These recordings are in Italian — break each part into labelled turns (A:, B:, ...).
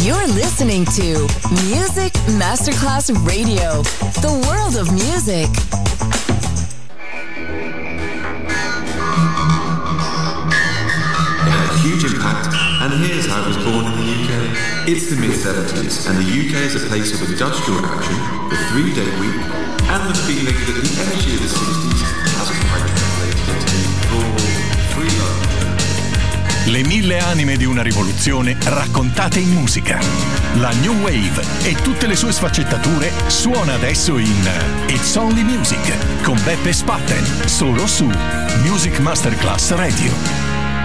A: You're listening to Music Masterclass Radio, the world of music.
B: It had a huge impact, and here's how it was born in the UK. It's the mid-70s, and the UK is a place of industrial action, the 3-day week, and the feeling that the energy of the 60s hasn't quite translated into full freedom.
C: Le 1000 anime di una rivoluzione raccontate in musica. La New Wave e tutte le sue sfaccettature suona adesso in It's Only Music con Beppe Spatten, solo su Music Masterclass Radio.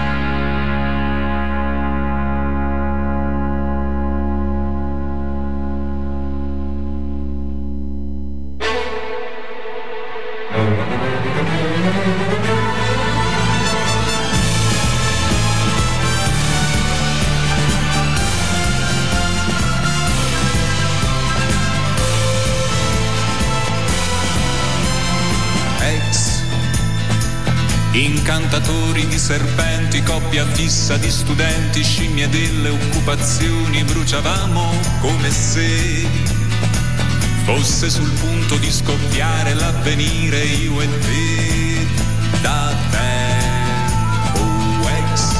D: Incantatori di serpenti, coppia fissa di studenti, scimmie delle occupazioni, bruciavamo come se fosse sul punto di scoppiare l'avvenire, io e te, da tempo ex.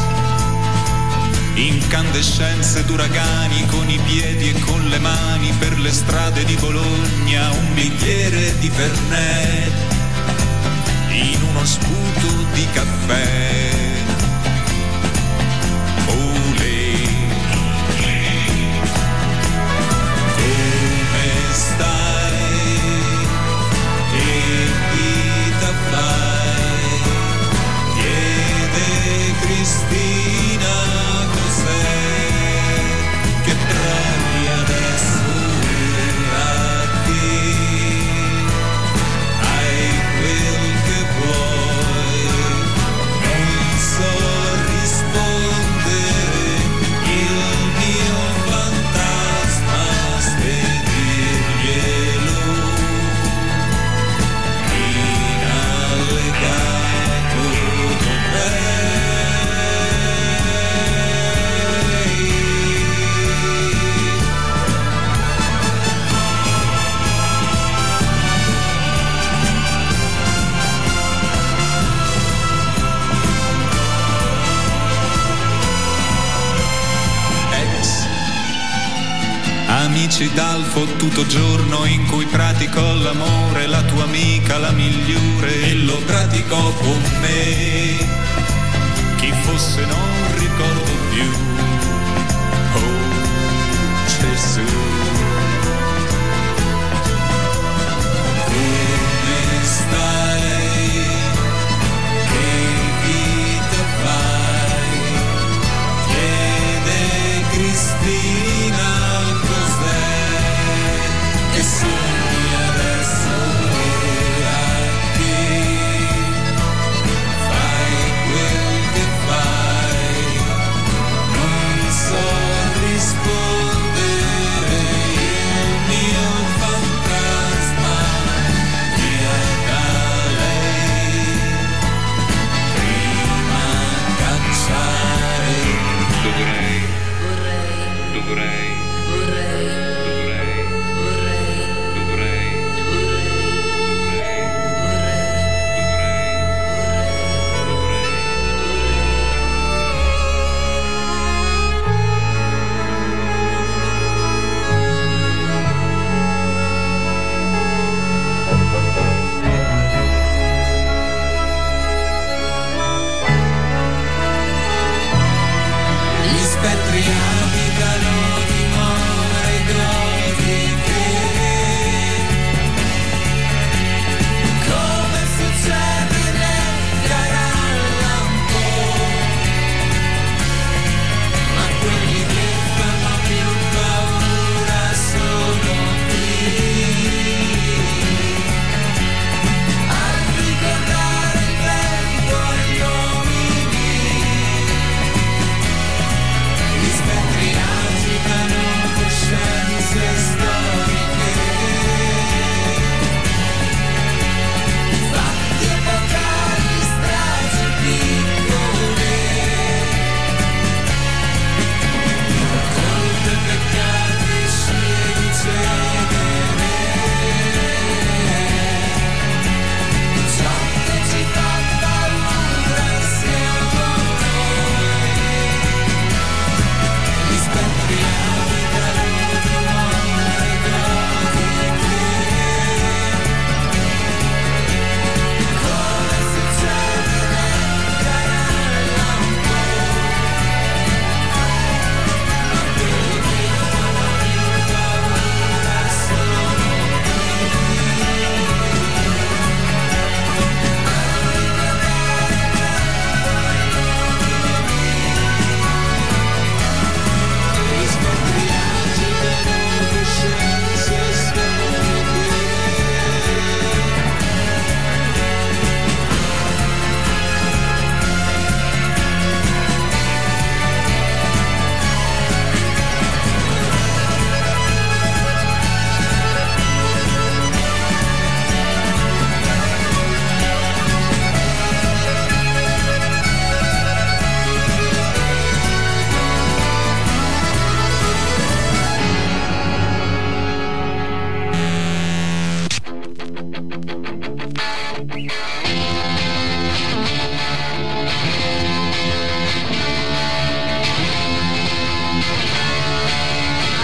D: Incandescenze d'uragani con i piedi e con le mani per le strade di Bologna, un bicchiere di Fernet in uno sputo di caffè. Olè, come stai? Che vita fai? Chiede Cristina cos'è che provi adesso a te. Hai quel che vuoi, non so rispondere, il mio fantasma spedirglielo in allegato dov'è. Ex amici dal fottuto giorno in cui pratico l'amore, la tua amica la migliore e lo praticò con me. Chi fosse non ricordo più. Oh Gesù, come stai? Che vita fai? Chiede Cristina cos'è che sogni adesso a te. Fai quel che fai, non so rispondere, il mio fantasma via da lei, prima cacciare. Dovrei gli spettri abitano dimore gotiche, come succede nel Garallampo, ma quelli che fanno più paura sono qui a ricordare il vento e gli uomini. Gli spettri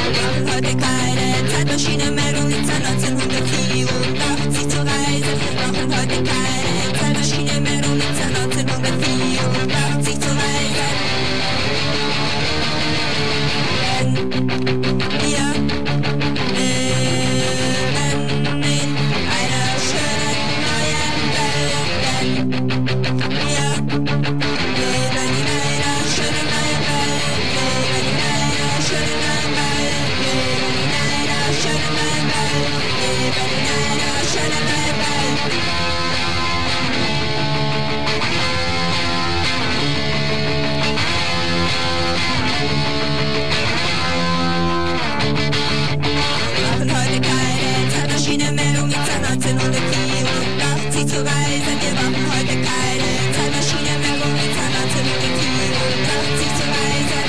E: machen heute keine Zeitmaschine mehr, um ins Jahr 1984 zu reisen. Machen heute keine Zeitmaschine mehr, um ins Jahr 1984 zu reisen. Denn wir leben in einer schönen neuen Welt. Denn wir leben in einer schönen neuen Welt. Leben in einer schönen neuen Welt. Leben in einer schönen neuen Welt. Leben in einer schönen neuen Welt. Wir brauchen heute keine Zeitmaschine mehr, um ins Jahr 1984 zu reisen. Wir brauchen heute keine Zeitmaschine mehr, um ins Jahr 1984 zu reisen.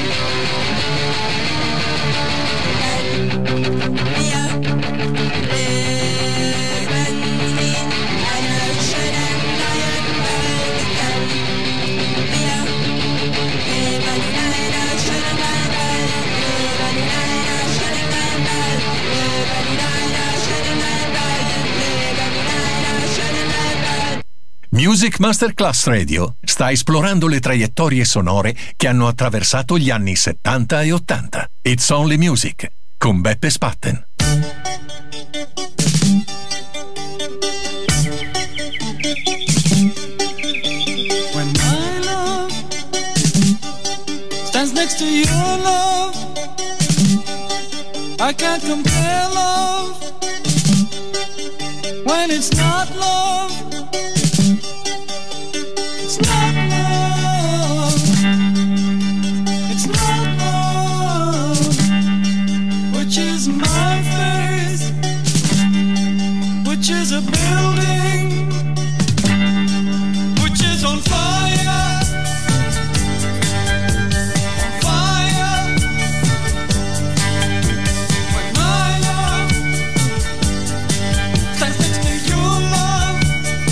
E: Denn wir leben in einer schönen neuen Welt. Denn wir leben in einer schönen neuen Welt. Leben in einer schönen neuen Welt. Leben in einer schönen neuen Welt. Leben in einer schönen neuen Welt.
C: Music Masterclass Radio sta esplorando le traiettorie sonore che hanno attraversato gli anni 70 e 80. It's Only Music con Beppe Spatten.
F: When my love stands next to your love, I can't compare love. When it's not love, it's not love. It's not love. Which is my face, which is a building, which is on fire, on fire. When my love stands next to your love,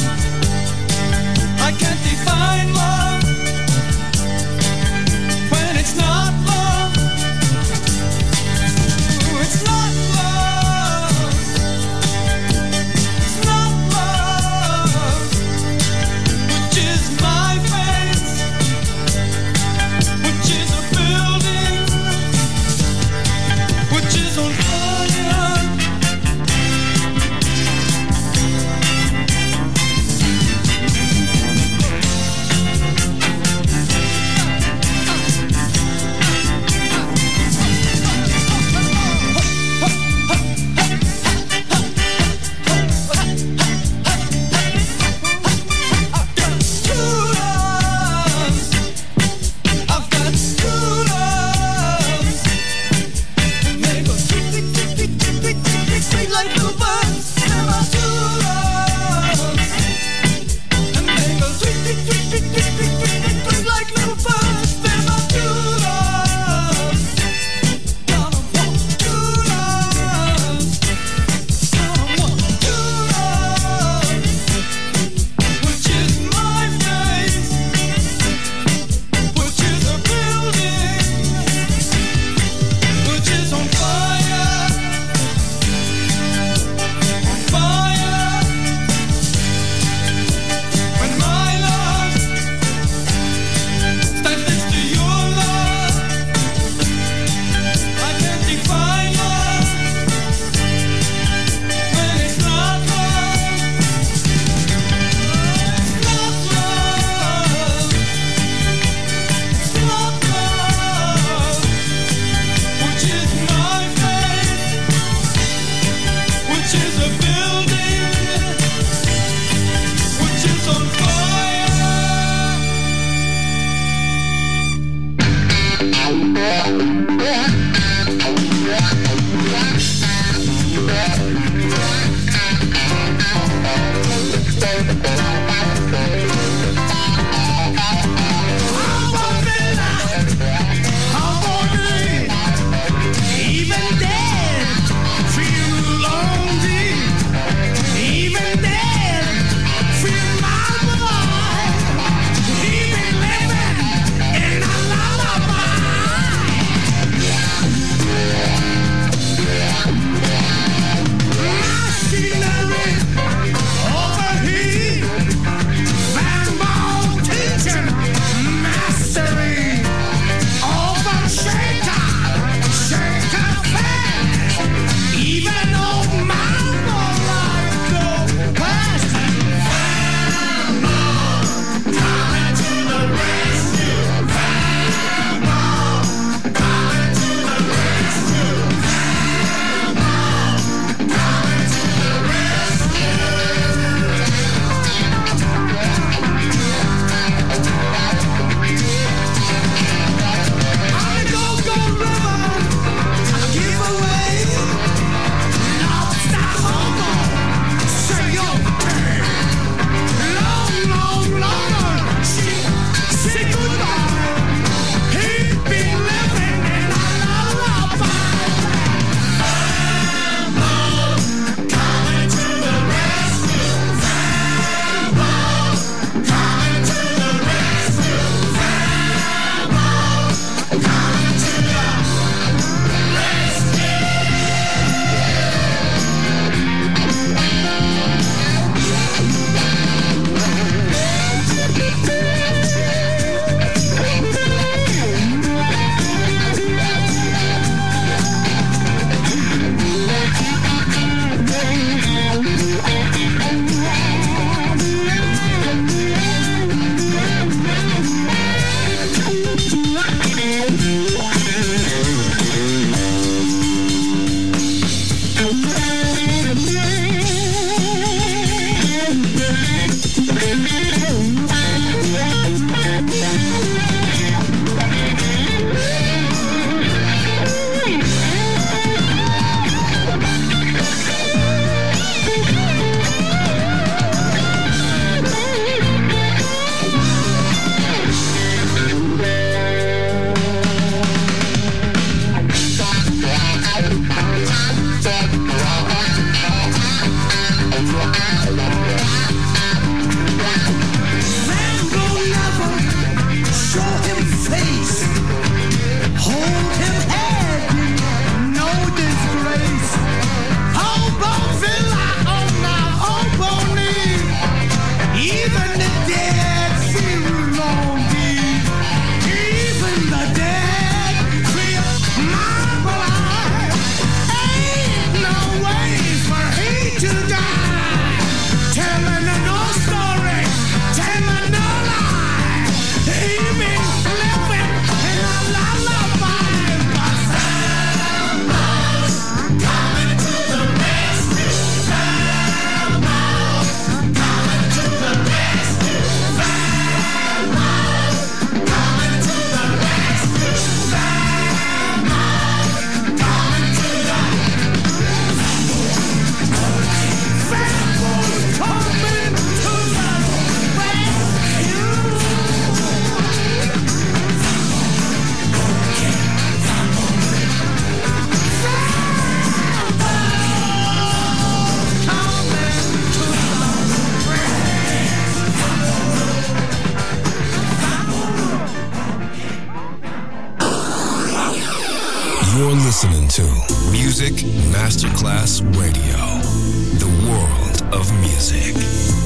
G: You're listening to Music Masterclass Radio, the world of music.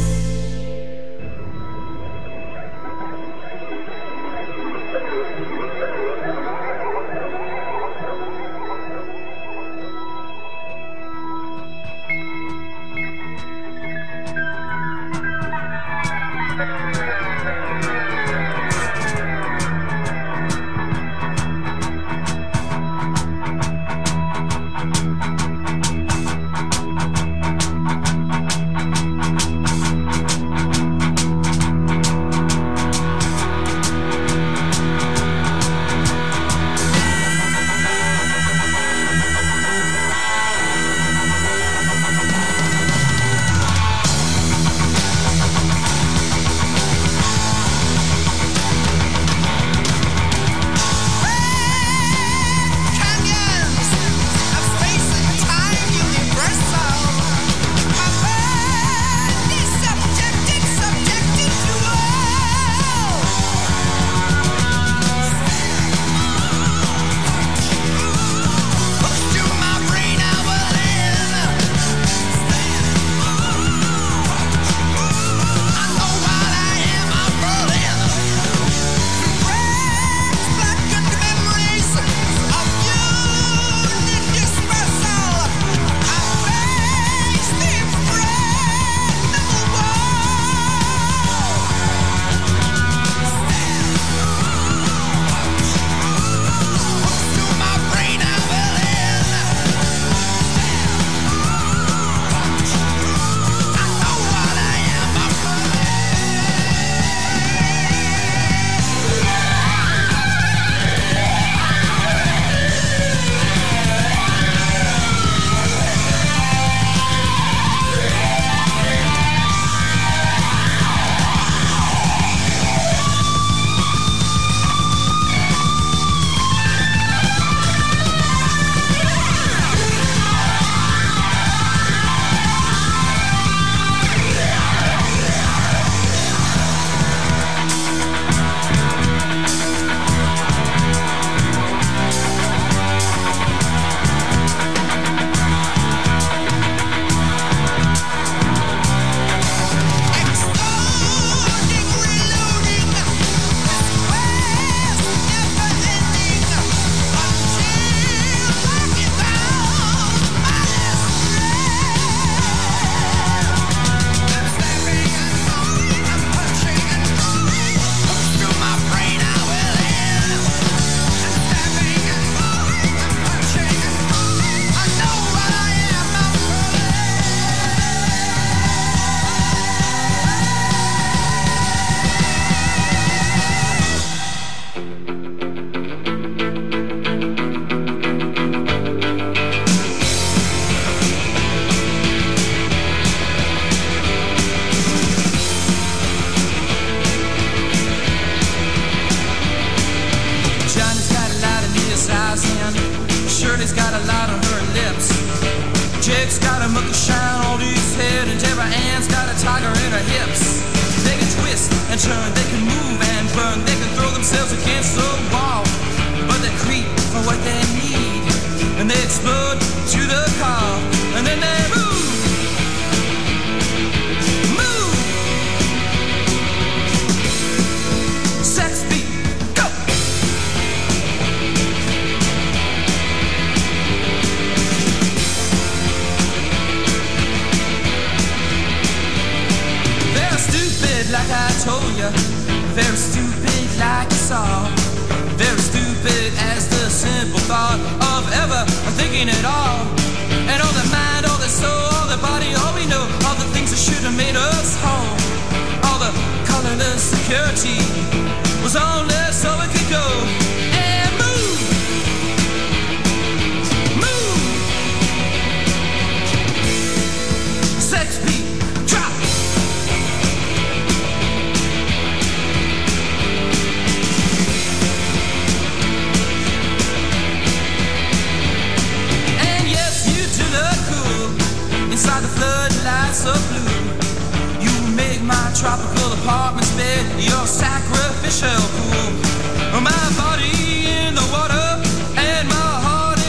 F: Tropical apartments bed, your sacrificial pool. My body in the water and my heart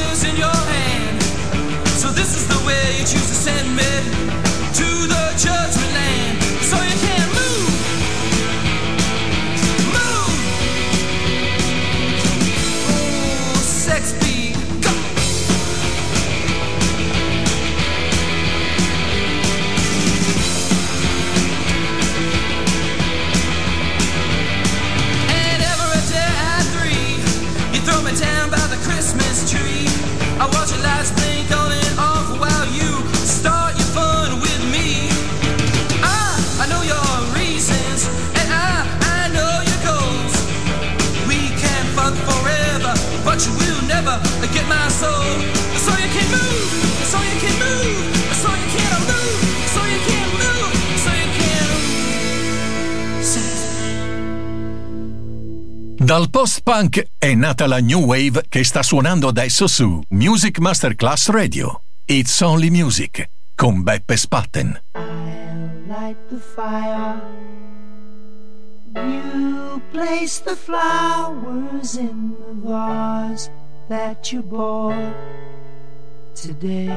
C: Dal post-punk è nata la New Wave che sta suonando adesso su Music Masterclass Radio. It's Only Music con Beppe Spatten.
H: I'll light the fire. You place the flowers in the vase that you bought today.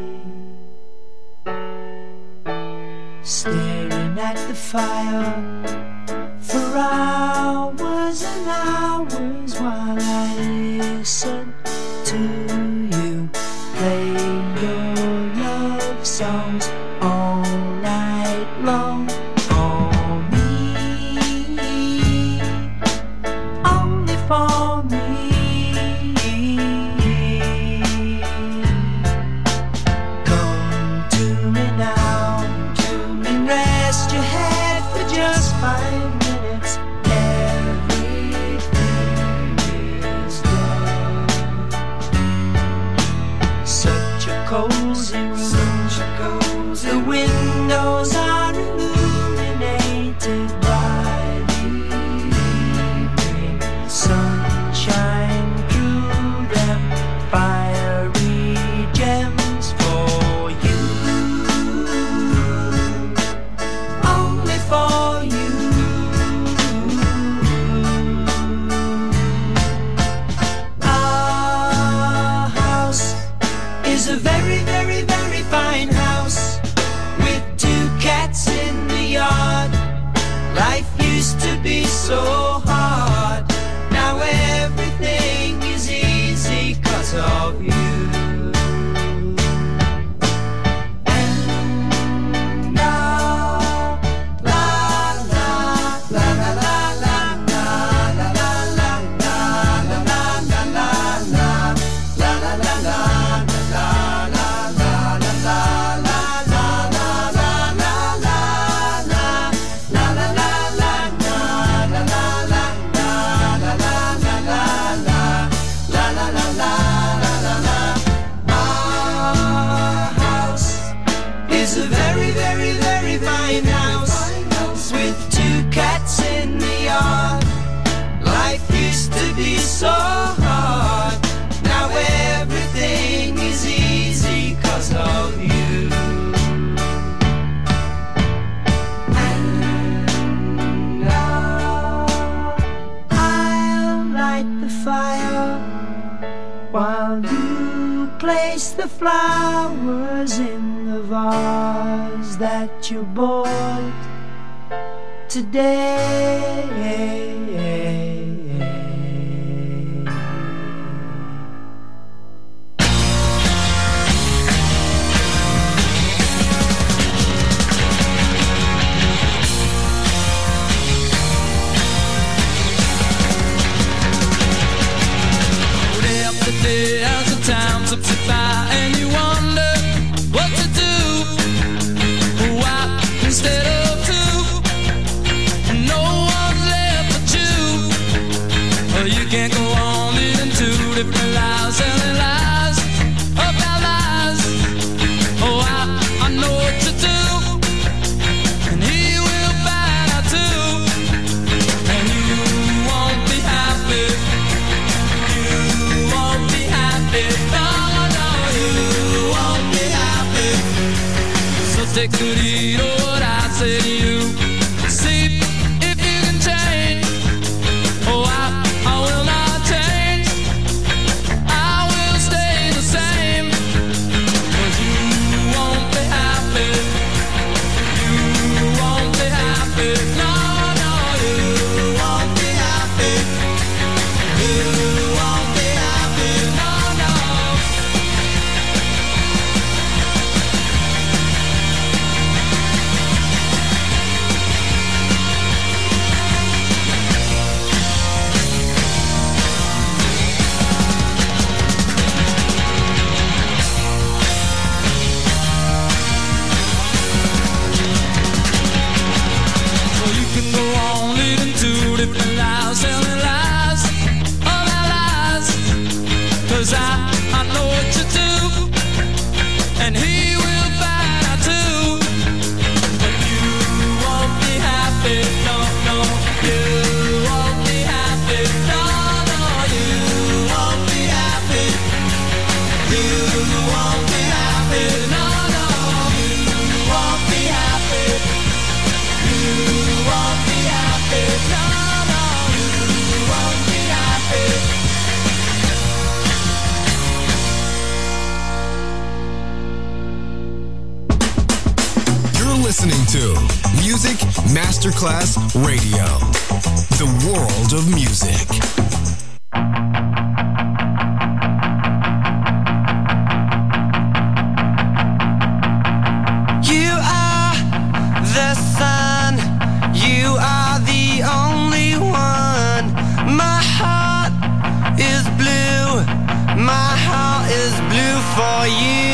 H: Staring at the fire for hours and hours while I listen to you play your love songs all night long. For me, only for me. Come to me now, to me, rest your head for just 5 minutes. Everything is done. Such a cozy room, such a cozy. The windows are illuminated by the evening sunshine through them, fiery gems for you, only for you. Our house is a very, very, very fine house with 2 cats in the yard. Life used to be so hard. Now everything is easy 'cause of you. And la la la la la la la la la la la la la la la la la Our house is a very, very, very fine house with 2 cats in the yard. Life used to be so hard. Now everything is easy 'cause of you. And I'll light the fire while you place the flowers in the vase that you bought today.
F: Day after day as the time slips by and you wonder what to do. Why instead of 2, no one's left but you. You can't go on living 2 different lives, telling lies about lies. Oh, I know what to do, and he will find out too. And you won't be happy. You won't be happy. No, no, you won't be happy. So take good heed of what I say to you. See if you can change. Oh, I will not change. I will stay the same. 'Cause you won't be happy. You won't be happy. No, no, you won't be happy. You won't be happy. No, no.
G: listening to Music Masterclass Radio, the world of music.
H: You are the sun, you are the only one. My heart is blue, my heart is blue for you.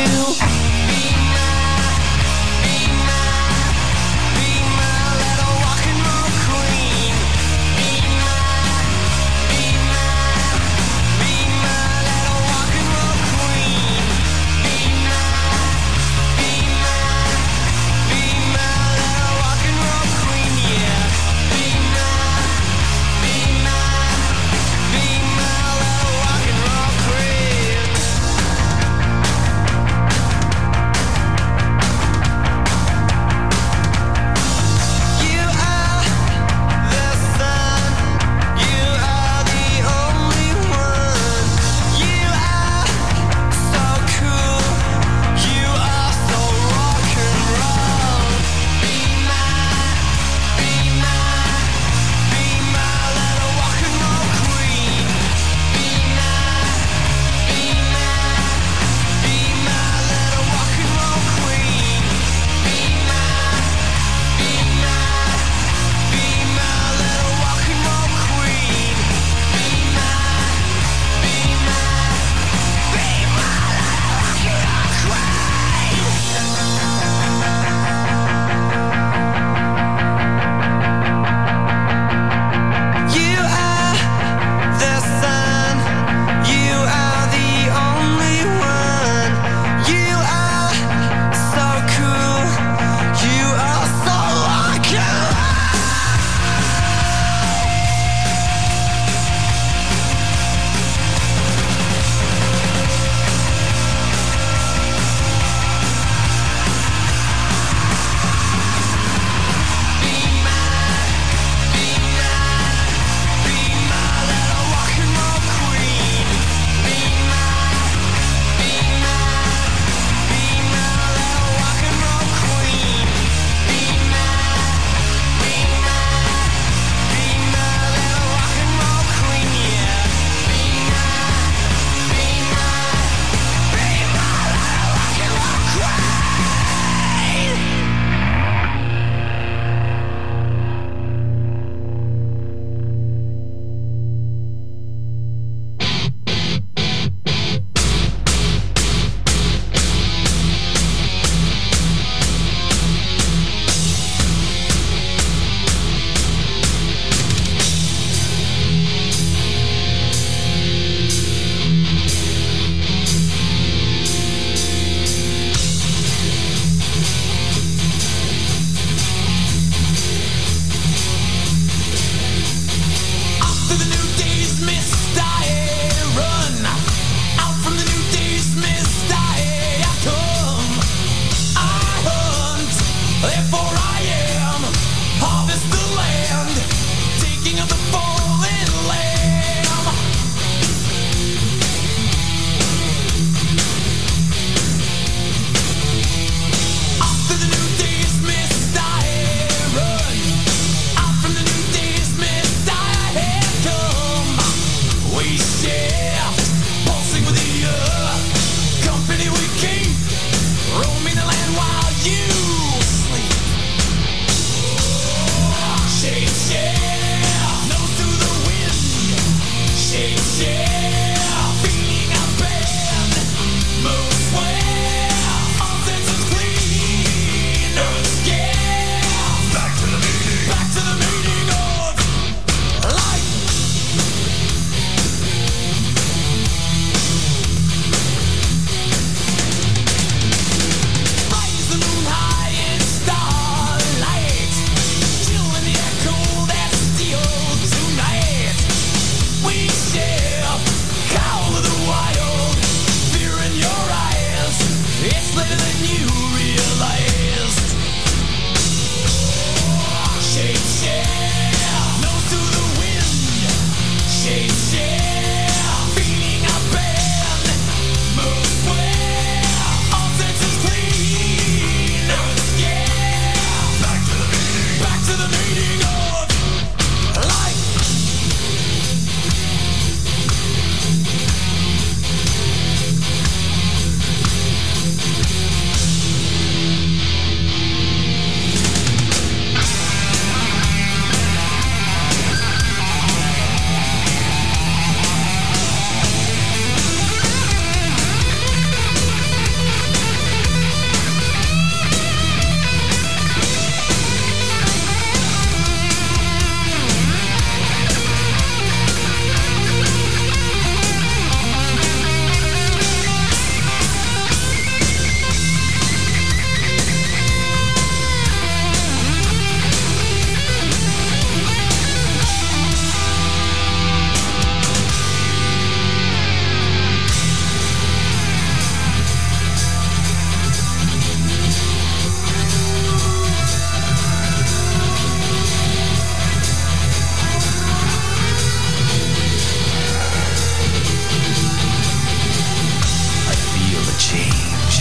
I: change.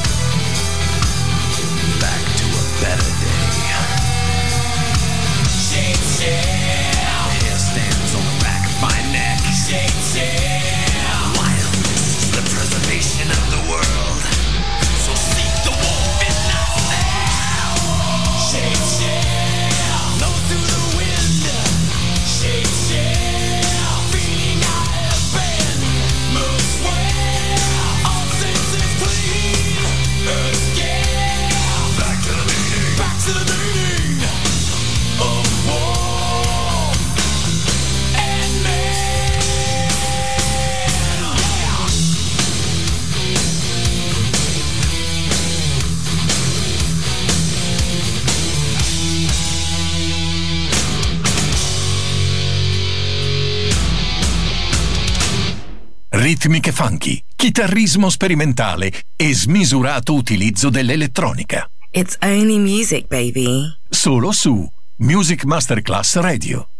I: Back to a better day. Shake, shake. Hair stands on the back of my neck. Shake, shake. Wildness is the preservation of the world. So seek the wolf in thyself. Shake, shake. Blow through the wind. Shake, shake. Feeling I have been. Move swell. All senses clean. Escape. Back to the meaning. Back to the meaning of war and man.
C: Ritmiche funky, chitarrismo sperimentale e smisurato utilizzo dell'elettronica.
J: It's only music, baby.
C: Solo su Music Masterclass Radio.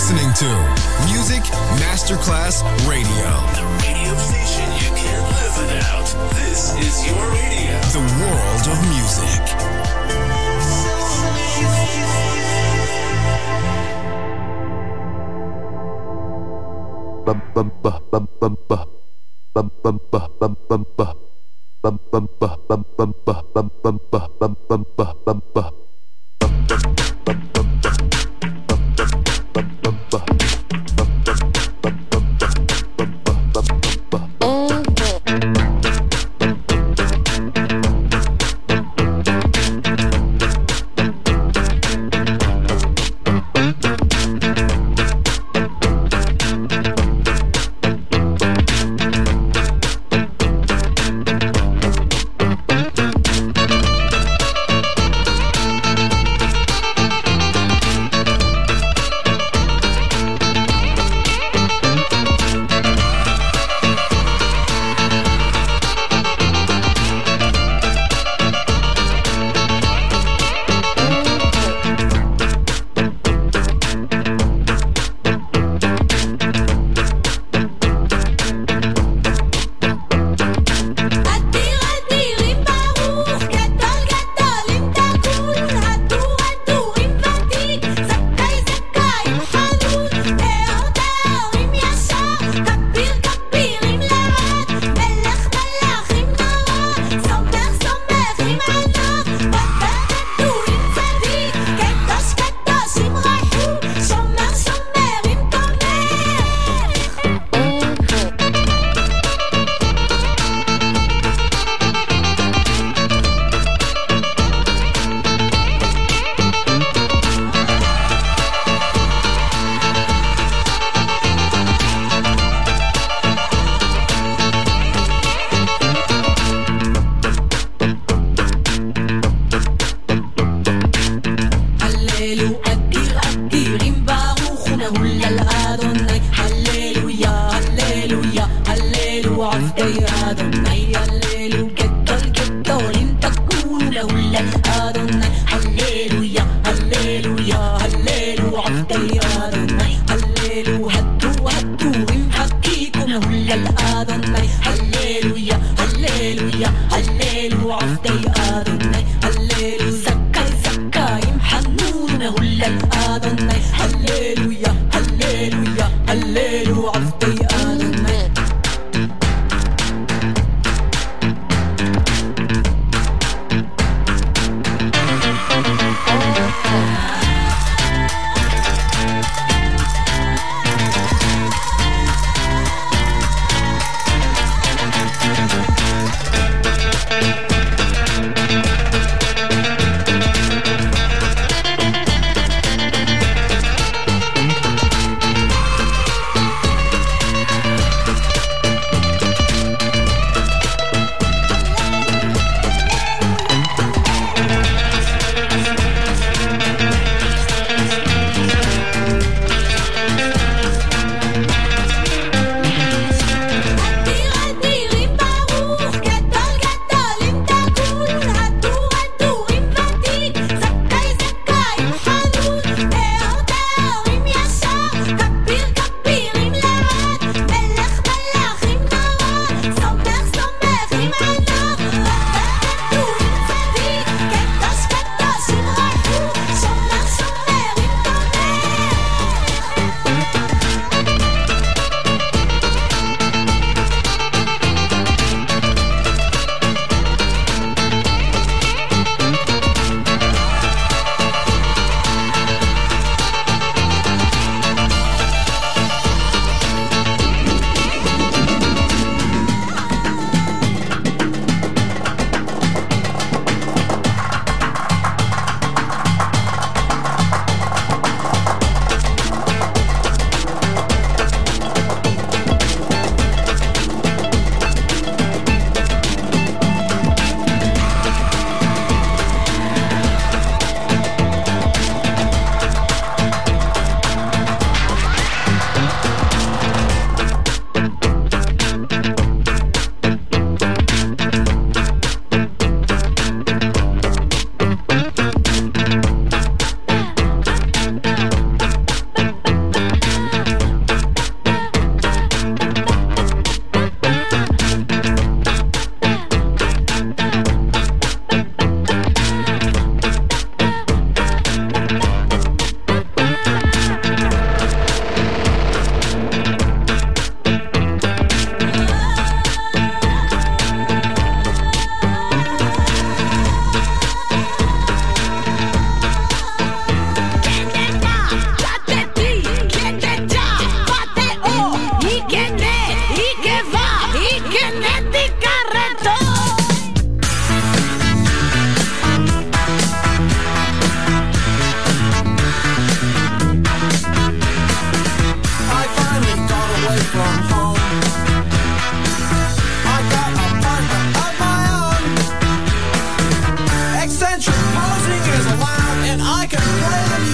G: listening to Music Masterclass Radio.
I: The radio station you can't live without. This is your radio.
G: The world of music.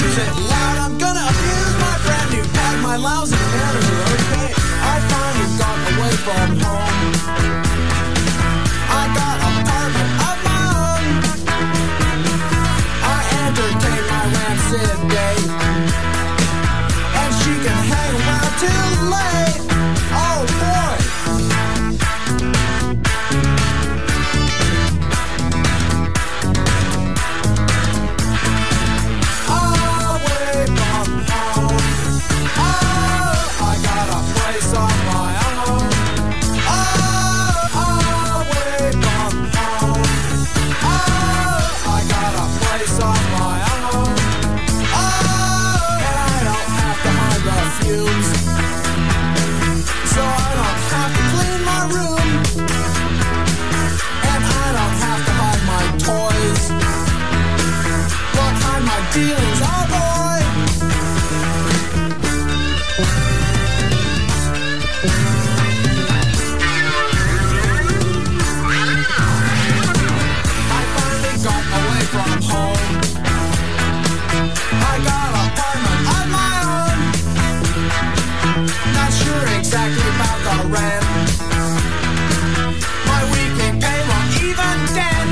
K: She said, loud, I'm gonna abuse my brand new pad, my lousy manager, okay? I finally got away from home. I got an apartment of my own. I entertain my rancid day, and she can hang around till late. Oh boy. Away from home. Oh, I got a place on my own. Oh, away from home. Oh, I got a place on my own. Oh, and I don't have to hide the fumes, so I don't have to clean my room, and I don't have to hide my toys, but hide my feelings, oh boy. I finally got away from home. I got an apartment of my own. Not sure exactly about the rent. My weekly pay won't even dent.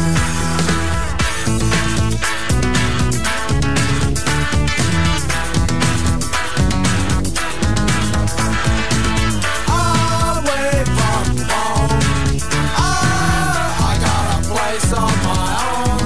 K: Away from home. Oh, I got a place on my own.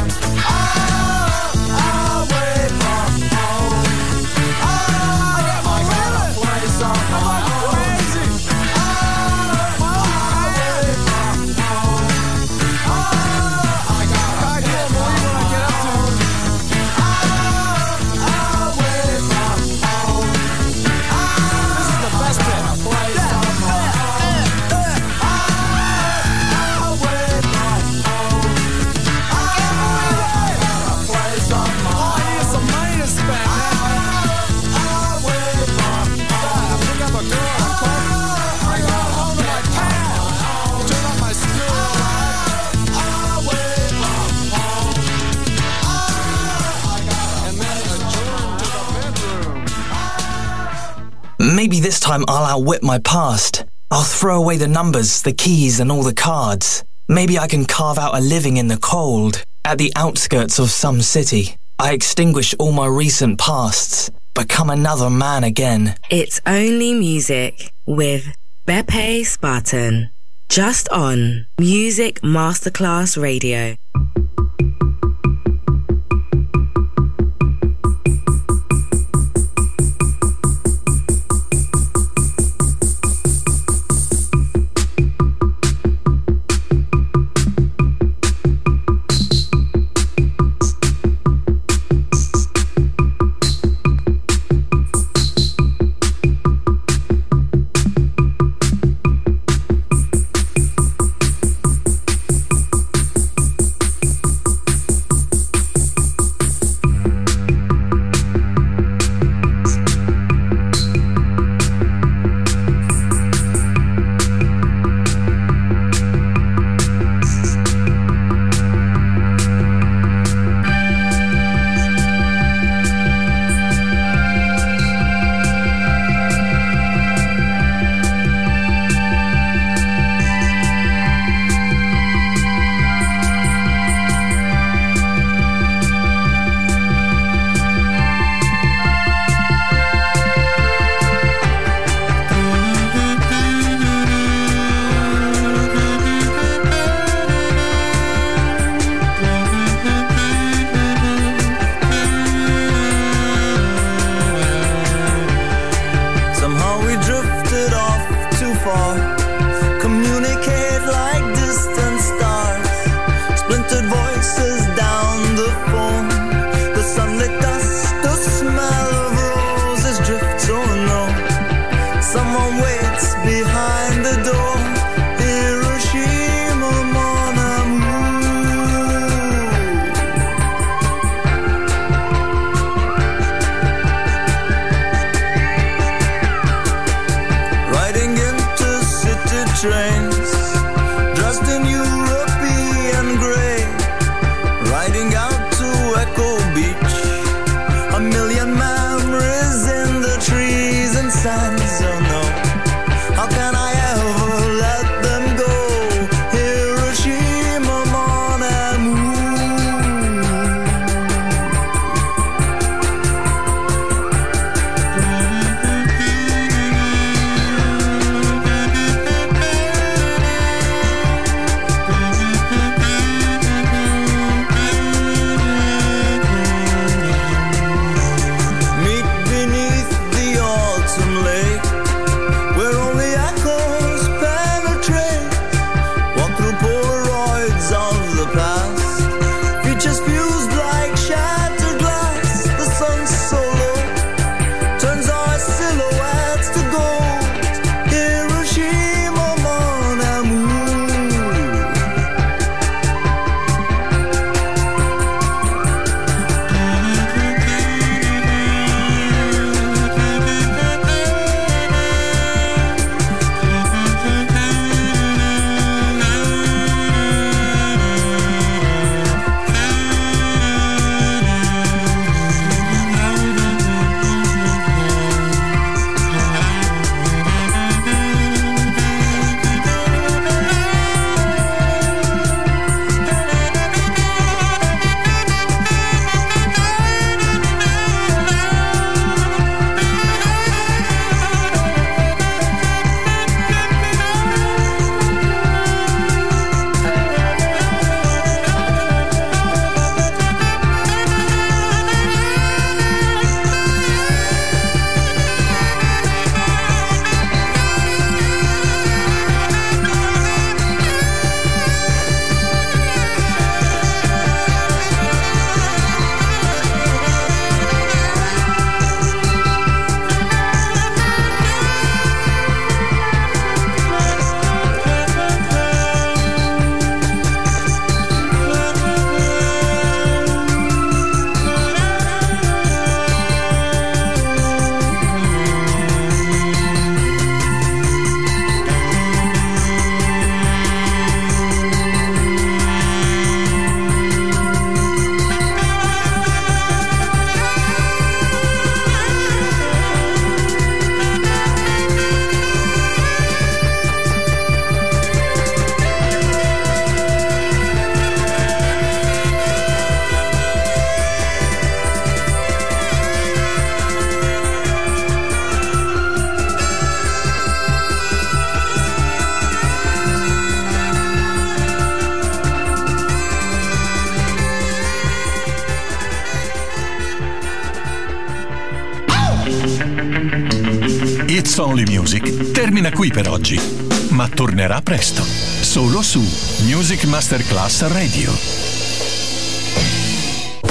K: Oh, away from home. Oh, I got a place on my own. Oh, away from home. Oh, I got a place on my own. Oh, away from home. This is the best bit. A place on my own. Away from home. I got a place on my own. I need some money to spend. Away from home. I pick up a girl. I got home to my town. Turn on my stereo. Away from home. And then adjourn to the bedroom.
L: Maybe this time I'll outwit my past. I'll throw away the numbers, the keys, and all the cards. Maybe I can carve out a living in the cold, at the outskirts of some city. I extinguish all my recent pasts, become another man again.
J: It's Only Music with Beppe Spartan. Just on Music Masterclass Radio.
M: A million memories in the trees and sands. Oh no, how can I ever let them go? Hiroshima, mon amour.
C: It's Only Music termina qui per oggi, ma tornerà presto, solo su Music Masterclass Radio.